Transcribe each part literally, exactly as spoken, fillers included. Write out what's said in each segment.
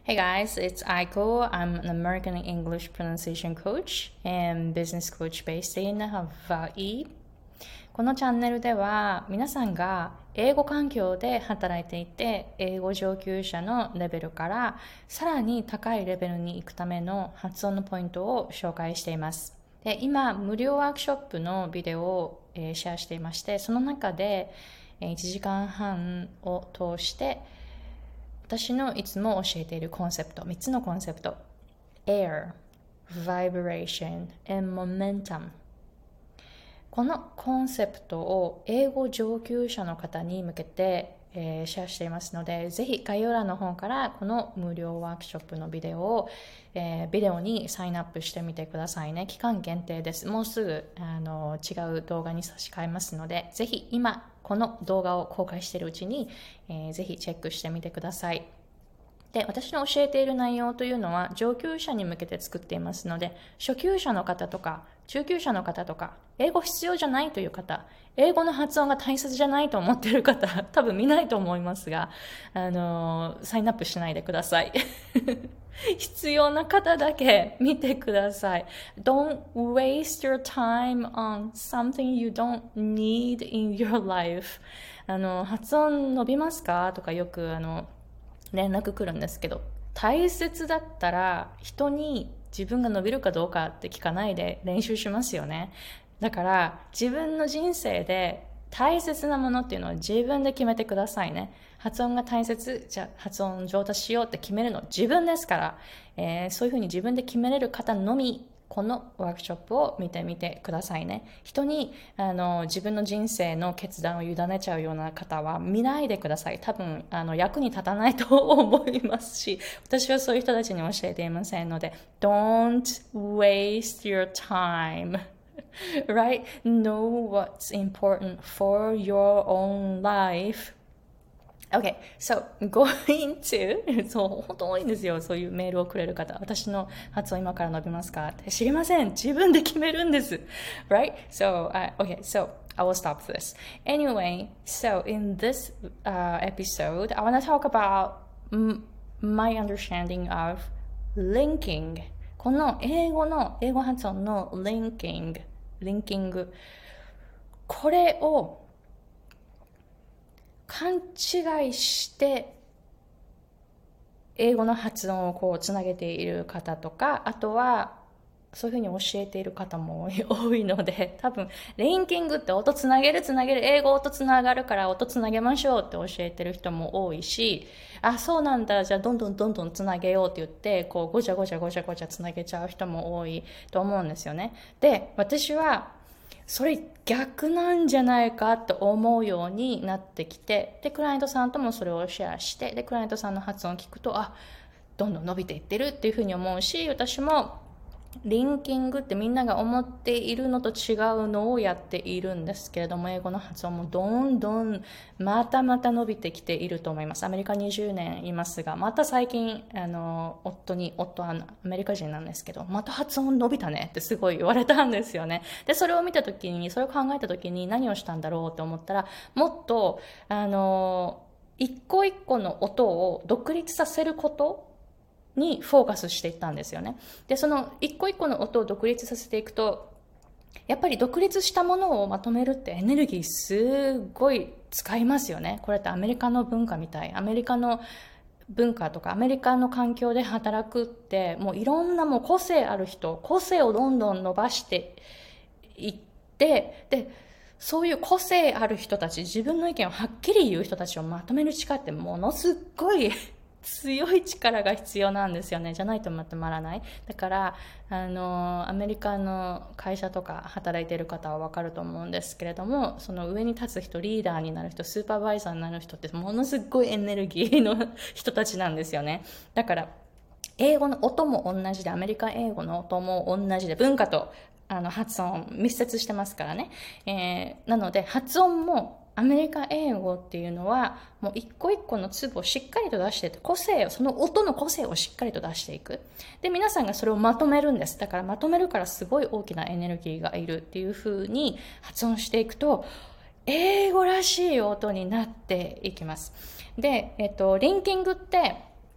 Hey guys, it's Aiko. I'm an American English pronunciation coach and business coach based in Hawaii. このチャンネルでは皆さんが英語環境で働いていて英語上級者のレベルからさらに高いレベルに行くための発音のポイントを紹介しています。で、今無料ワークショップのビデオを、えーシェアしていまして、その中で、えーいちじかんはんを通して私のいつも教えているコンセプト、みっつのコンセプト Air, Vibration and Momentum、 このコンセプトを英語上級者の方に向けて、えーシェアしていますので、ぜひ概要欄の方からこの無料ワークショップのビデオを、えービデオにサインアップしてみてくださいね。期間限定です。もうすぐあの違う動画に差し替えますので、ぜひ今この動画を公開しているうちに、えーぜひチェックしてみてください。で、私の教えている内容というのは上級者に向けて作っていますので、初級者の方とか中級者の方とか英語必要じゃないという方、英語の発音が大切じゃないと思っている方多分見ないと思いますが、あのサインアップしないでください。必要な方だけ見てください。 Don't waste your time on something you don't need in your life。 あの発音伸びますかとかよくあの連絡来るんですけど、大切だったら人に自分が伸びるかどうかって聞かないで練習しますよね。だから自分の人生で大切なものっていうのは自分で決めてくださいね。発音が大切、じゃあ発音上達しようって決めるの自分ですから、えーそういうふうに自分で決めれる方のみこのワークショップを見てみてくださいね。人にあの自分の人生の決断を委ねちゃうような方は見ないでください。多分あの役に立たないと思いますし、私はそういう人たちに教えていませんので、 Don't waste your time. Right? Know what's important for your own life. Okay, so going to そう本当多いんですよ、そういうメールをくれる方。私の発音今から伸びますかって知りません。自分で決めるんです。Right? So, uh, okay, so I will stop this. Anyway, so in this uh, episode, I want to talk about m- my understanding of linking. この英語の英語発音の linking、linking、これを勘違いして英語の発音をこうつなげている方とか、あとはそういうふうに教えている方も多いので、多分リンキングって音つなげるつなげる、英語音つながるから音つなげましょうって教えてる人も多いし、あ、そうなんだ、じゃあどんどんどんどんつなげようって言ってこうごちゃごちゃごちゃごちゃつなげちゃう人も多いと思うんですよね。で、私はそれ逆なんじゃないかと思うようになってきて、でクライアントさんともそれをシェアして、でクライアントさんの発音を聞くと、あ、どんどん伸びていってるっていうふうに思うし、私もリンキングってみんなが思っているのと違うのをやっているんですけれども、英語の発音もどんどんまたまた伸びてきていると思います。アメリカにじゅうねんいますが、また最近あの夫に、夫はアメリカ人なんですけど、また発音伸びたねってすごい言われたんですよね。でそれを見た時に、それを考えた時に何をしたんだろうって思ったら、もっとあの一個一個の音を独立させることにフォーカスしていったんですよね。でその一個一個の音を独立させていくと、やっぱり独立したものをまとめるってエネルギーすごい使いますよね。これってアメリカの文化みたい。アメリカの文化とかアメリカの環境で働くって、もういろんなもう個性ある人、個性をどんどん伸ばしていって、でそういう個性ある人たち、自分の意見をはっきり言う人たちをまとめる力ってものすっごい強い力が必要なんですよね。じゃないとまとまらない。だからあのアメリカの会社とか働いている方は分かると思うんですけれども、その上に立つ人、リーダーになる人、スーパーバイザーになる人ってものすごいエネルギーの人たちなんですよね。だから英語の音も同じで、アメリカ英語の音も同じで、文化とあの発音密接してますからね、えー、なので発音もアメリカ英語っていうのはもう一個一個の粒をしっかりと出していて、個性を、その音の個性をしっかりと出していく。で皆さんがそれをまとめるんです。だからまとめるからすごい大きなエネルギーがいるっていう風に発音していくと、英語らしい音になっていきます。で、えっと、リンキングって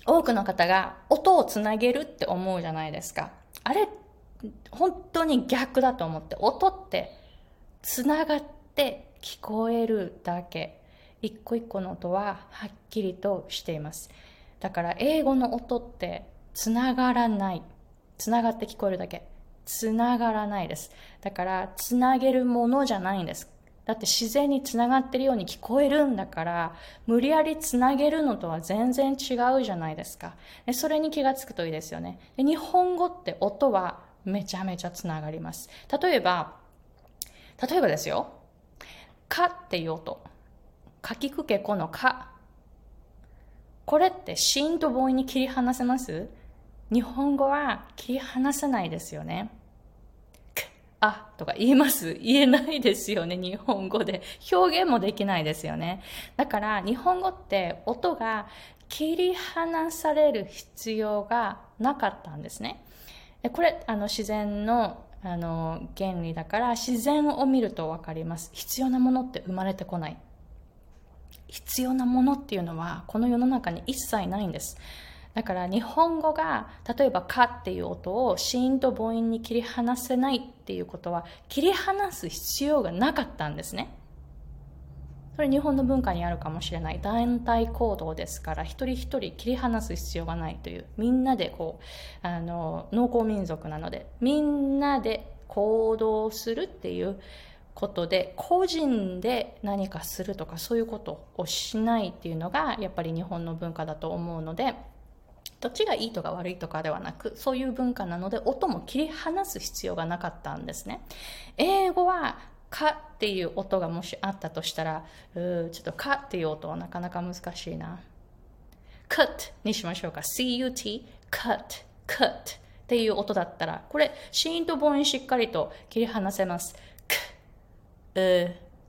多くの方が音をつなげるって思うじゃないですか。あれ、本当に逆だと思って、音ってつながって聞こえるだけ。一個一個の音ははっきりとしています。だから英語の音ってつながらない。つながって聞こえるだけ。つながらないです。だからつなげるものじゃないんです。だって自然につながってるように聞こえるんだから、無理やりつなげるのとは全然違うじゃないですか。でそれに気がつくといいですよね。で日本語って音はめちゃめちゃつながります。例えば、例えばですよ。かっていう音。かきくけこのか。これって子音と母音に切り離せます？日本語は切り離せないですよね。あとか言えます？言えないですよね、日本語で。表現もできないですよね。だから日本語って音が切り離される必要がなかったんですね。これ、あの自然のあの原理だから、自然を見るとわかります。必要なものって生まれてこない。必要なものっていうのはこの世の中に一切ないんです。だから日本語が例えばかっていう音を子音と母音に切り離せないっていうことは、切り離す必要がなかったんですね。それ日本の文化にあるかもしれない団体行動ですから、一人一人切り離す必要がないという、みんなでこうあの農耕民族なので、みんなで行動するっていうことで、個人で何かするとかそういうことをしないっていうのがやっぱり日本の文化だと思うので、どっちがいいとか悪いとかではなく、そういう文化なので音も切り離す必要がなかったんですね。英語はかっていう音がもしあったとしたら、うーちょっとかっていう音はなかなか難しいな。cut にしましょうか。cut cut cut っていう音だったら、これ子音と母音しっかりと切り離せます。うー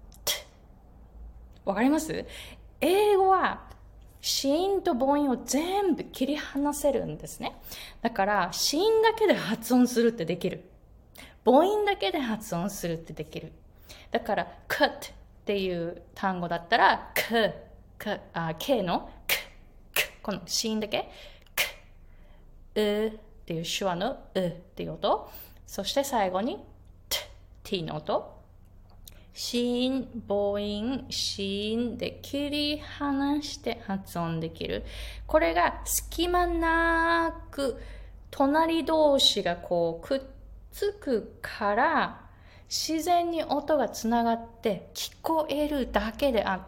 t わかります？英語は子音と母音を全部切り離せるんですね。だから子音だけで発音するってできる。母音だけで発音するってできる。だから cut っていう単語だったら k, k, あ k の k, k この子音だけ k, うっていう手話のうっていう音、そして最後に t, t の音、子音、母音、子音で切り離して発音できる。これが隙間なく隣同士がこうくっつくから、自然に音がつながって聞こえるだけであって、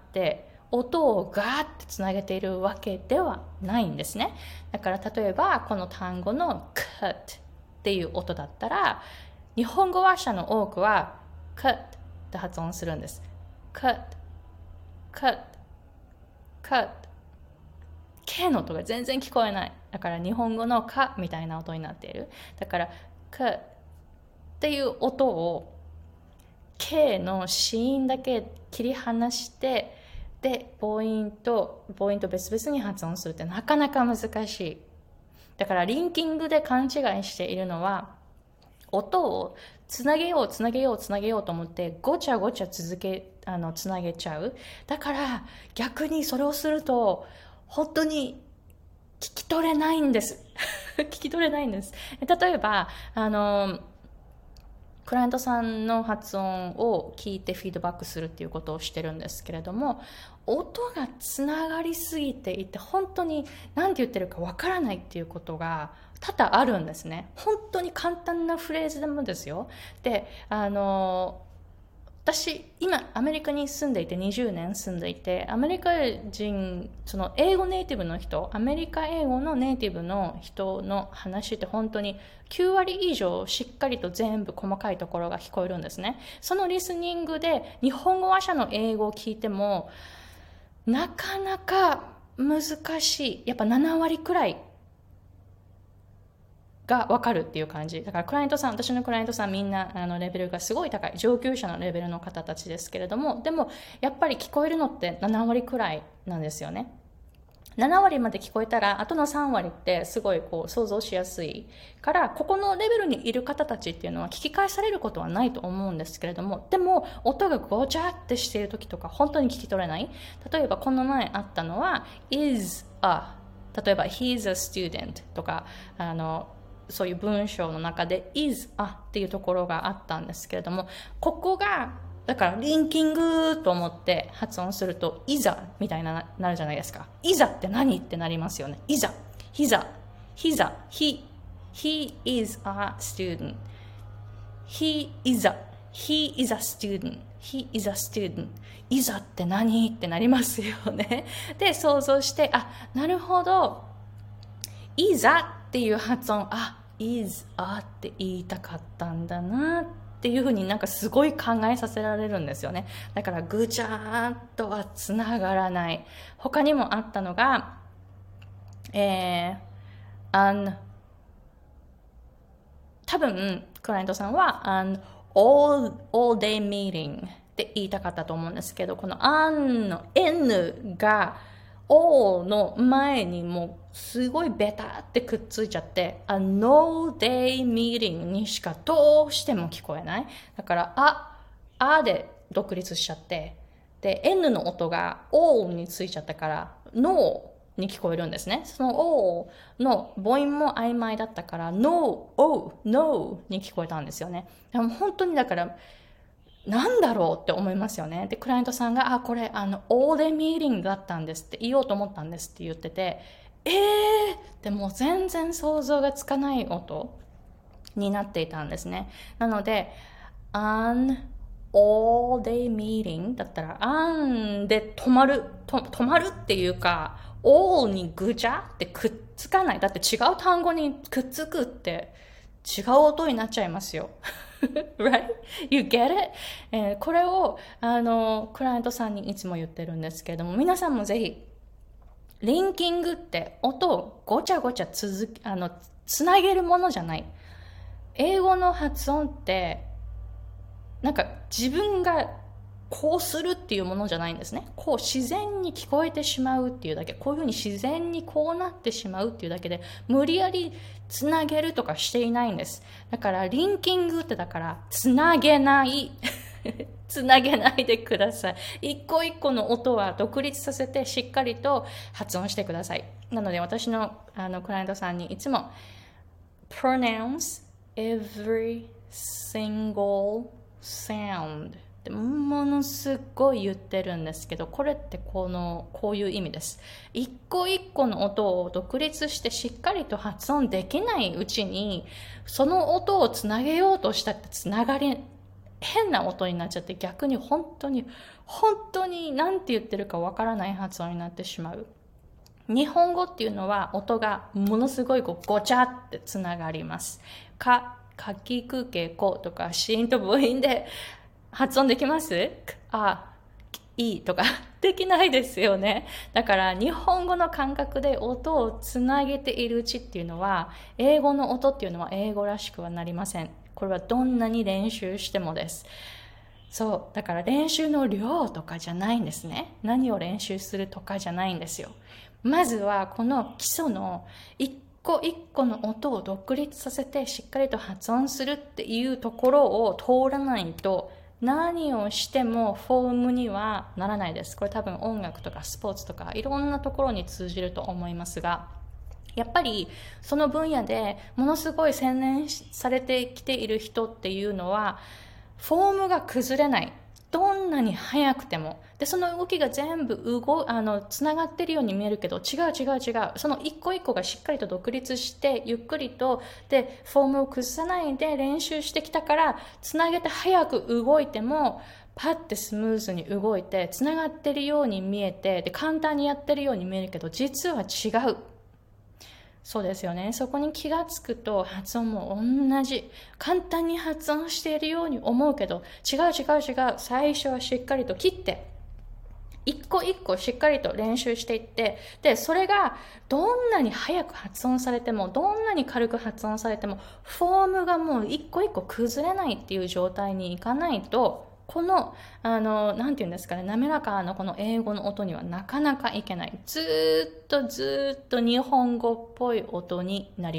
音をガーってつなげているわけではないんですね。だから例えばこの単語の cut っていう音だったら、日本語話者の多くは cutって発音するんです。 cut cut cut K の音が全然聞こえない。だから日本語のかみたいな音になっている。だから cut っていう音を K の子音だけ切り離して、で母音と母音と別々に発音するってなかなか難しい。だからリンキングで勘違いしているのは、音をつなげようつなげようつなげようと思ってごちゃごちゃ続けあのつなげちゃう。だから逆にそれをすると本当に聞き取れないんです聞き取れないんです。例えばあのクライアントさんの発音を聞いてフィードバックするっていうことをしてるんですけれども、音がつながりすぎていて本当に何て言ってるかわからないっていうことが多々あるんですね。本当に簡単なフレーズでもですよ。で、あの私今アメリカに住んでいてにじゅうねん住んでいて、アメリカ人、その英語ネイティブの人、アメリカ英語のネイティブの人の話って本当にきゅうわり以上しっかりと全部細かいところが聞こえるんですね。そのリスニングで日本語話者の英語を聞いてもなかなか難しい。やっぱななわりくらいが分かるっていう感じだから、クライアントさん、私のクライアントさんみんなあのレベルがすごい高い上級者のレベルの方たちですけれども、でもやっぱり聞こえるのってななわりくらいなんですよね。ななわりまで聞こえたらあとのさんわりってすごいこう想像しやすいから、ここのレベルにいる方たちっていうのは聞き返されることはないと思うんですけれども、でも音がごちゃってしている時とか本当に聞き取れない。例えばこの前あったのは is a 例えば he's a student とか、あのそういう文章の中で is a っていうところがあったんですけれども、ここがだからリンキングと思って発音するといざみたいななるじゃないですか。いざって何ってなりますよね。いざ、ひざ、ひざ、he he is a student, he is a he is a student, he is a student, いざって何ってなりますよね。で想像して、あ、なるほど、いざっていう発音、あ、is a って言いたかったんだなっていうふうになんかすごい考えさせられるんですよね。だからぐちゃーっとはつながらない。他にもあったのが、えー、an 多分クライアントさんは an all, all day meeting って言いたかったと思うんですけど、この an の n が all の前にもうすごいベタってくっついちゃって、a no day meeting にしかどうしても聞こえない。だからあ、あで独立しちゃって、で n の音が all についちゃったから noに聞こえるんですね。その O の母音も曖昧だったから No, O, No に聞こえたんですよね。でも本当にだからなんだろうって思いますよね。で、クライアントさんが、あ、これあの All day meeting だったんですって言おうと思ったんですって言ってて、えーでも全然想像がつかない音になっていたんですね。なので An all day meeting だったら An で止まると止まるっていうかall にぐちゃってくっつかない。だって違う単語にくっつくって違う音になっちゃいますよ。right? You get it? えー、これをあのクライアントさんにいつも言ってるんですけれども、皆さんもぜひリンキングって音をごちゃごちゃ続きあのつなげるものじゃない。英語の発音ってなんか自分がこうするっていうものじゃないんですね。こう自然に聞こえてしまうっていうだけ、こういうふうに自然にこうなってしまうっていうだけで無理やりつなげるとかしていないんです。だからリンキングってだからつなげないつなげないでください。一個一個の音は独立させてしっかりと発音してください。なので私のあのクライアントさんにいつも pronounce every single soundものすごい言ってるんですけど、これってこのこういう意味です。一個一個の音を独立してしっかりと発音できないうちにその音をつなげようとしたってつながり変な音になっちゃって、逆に本当に本当に何て言ってるかわからない発音になってしまう。日本語っていうのは音がものすごいこうごちゃってつながります。か、かきくけことか子音と母音で発音できます？あ、いいとかできないですよね。だから日本語の感覚で音をつなげているうちっていうのは、英語の音っていうのは英語らしくはなりません。これはどんなに練習してもです。そう、だから練習の量とかじゃないんですね。何を練習するとかじゃないんですよ。まずはこの基礎の一個一個の音を独立させてしっかりと発音するっていうところを通らないと何をしてもフォームにはならないです。これ多分音楽とかスポーツとかいろんなところに通じると思いますが、やっぱりその分野でものすごい洗練されてきている人っていうのはフォームが崩れない。どんなに速くても。で、その動きが全部動あのつながってるように見えるけど、違う違う違う。その一個一個がしっかりと独立して、ゆっくりと、で、フォームを崩さないで練習してきたから、つなげて早く動いても、パッてスムーズに動いて、つながってるように見えて、で、簡単にやってるように見えるけど、実は違う。そうですよね。そこに気がつくと発音も同じ。簡単に発音しているように思うけど、違う違う違う。最初はしっかりと切って、一個一個しっかりと練習していって、で、それがどんなに早く発音されても、どんなに軽く発音されても、フォームがもう一個一個崩れないっていう状態にいかないと、この、あの、なんて言うんですかね、滑らかなこの英語の音にはなかなかいけない。ずーっとずーっと日本語っぽい音になります。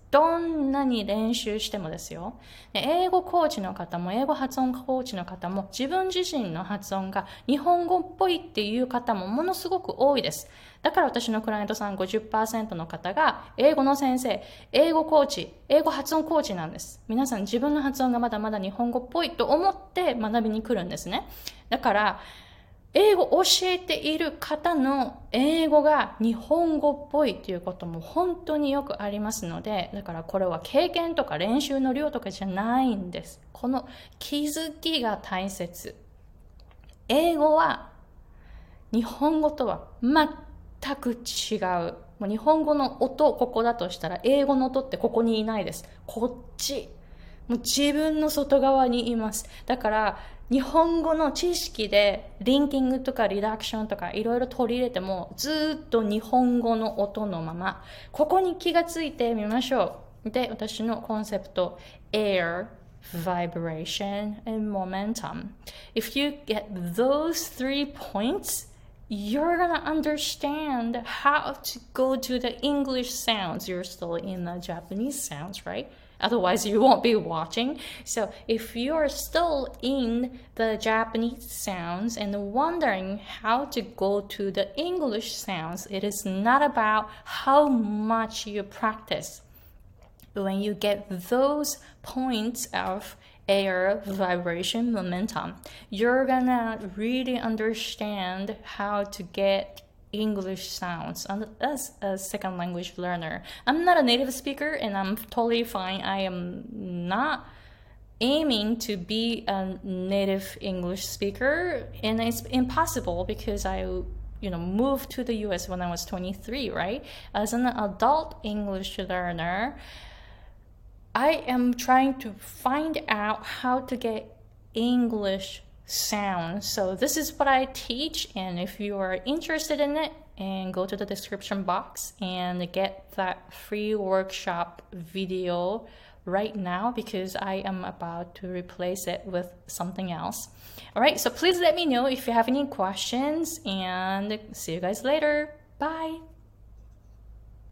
どんなに練習してもですよ。英語コーチの方も、英語発音コーチの方も、自分自身の発音が日本語っぽいっていう方もものすごく多いです。だから私のクライアントさん ごじゅっパーセント の方が、英語の先生、英語コーチ、英語発音コーチなんです。皆さん自分の発音がまだまだ日本語っぽいと思って学びに来るんですね。だから、英語を教えている方の英語が日本語っぽいということも本当によくありますので、だからこれは経験とか練習の量とかじゃないんです。この気づきが大切。英語は日本語とは全く違う。もう日本語の音ここだとしたら英語の音ってここにいないです。こっち。もう自分の外側にいます。だから日本語の知識でリンキングとかリダクションとかいろいろ取り入れてもずっと日本語の音のままここに気がついてみましょう。で、私のコンセプト Air, Vibration and Momentum. If you get those three points, you're gonna understand how to go to the English sounds. You're still in the Japanese sounds, right?Otherwise, you won't be watching. So if you're still in the Japanese sounds and wondering how to go to the English sounds, it is not about how much you practice. When you get those points of air, vibration, momentum, you're gonna really understand how to get English sounds as a second language learner. I'm not a native speaker and I'm totally fine. I am not aiming to be a native English speaker, and it's impossible because I you know moved to the U S when I was twenty-three, right? As an adult English learner, I am trying to find out how to get English sound. So this is what I teach, and if you are interested in it, and go to the description box and get that free workshop video right now because I am about to replace it with something else. All right, so please let me know if you have any questions, and see you guys later. Bye.